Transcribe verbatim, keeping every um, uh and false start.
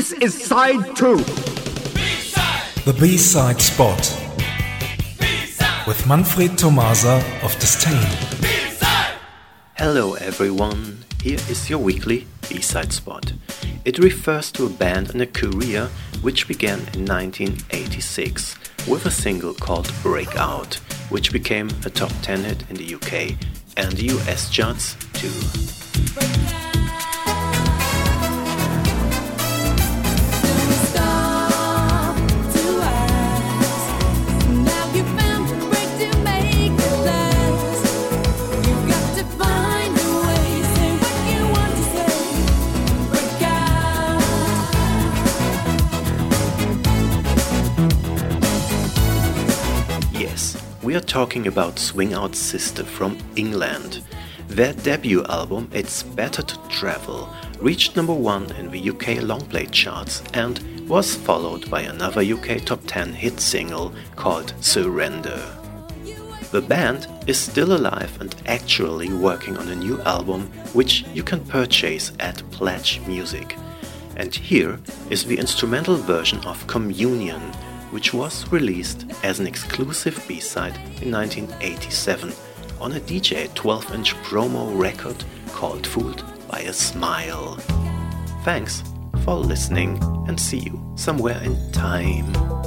This is side two. B-side. The B-side spot. B-side. With Manfred Tomasa of Disdain. B-side. Hello everyone, here is your weekly B-side spot. It refers to a band and a career which began in nineteen eighty-six with a single called Breakout, which became a top ten hit in the U K and the U S charts too. We are talking about Swing Out Sister from England. Their debut album, It's Better to Travel, reached number one in the U K longplay charts and was followed by another U K top ten hit single called Surrender. The band is still alive and actually working on a new album which you can purchase at Pledge Music. And here is the instrumental version of Communion, which was released as an exclusive B-side in nineteen eighty-seven on a D J twelve inch promo record called Fooled by a Smile. Thanks for listening and see you somewhere in time.